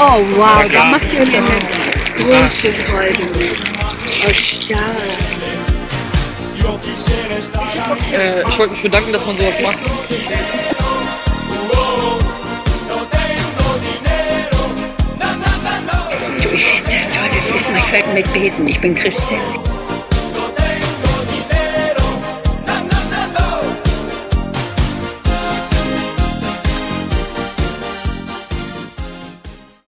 Oh wow, da Ja. macht ihr mir eine große Freude. Oh stark. Ich wollte mich bedanken, dass man sowas macht. Du, ich finde das toll, das ist mein Feld mit Beten. Ich bin Christin.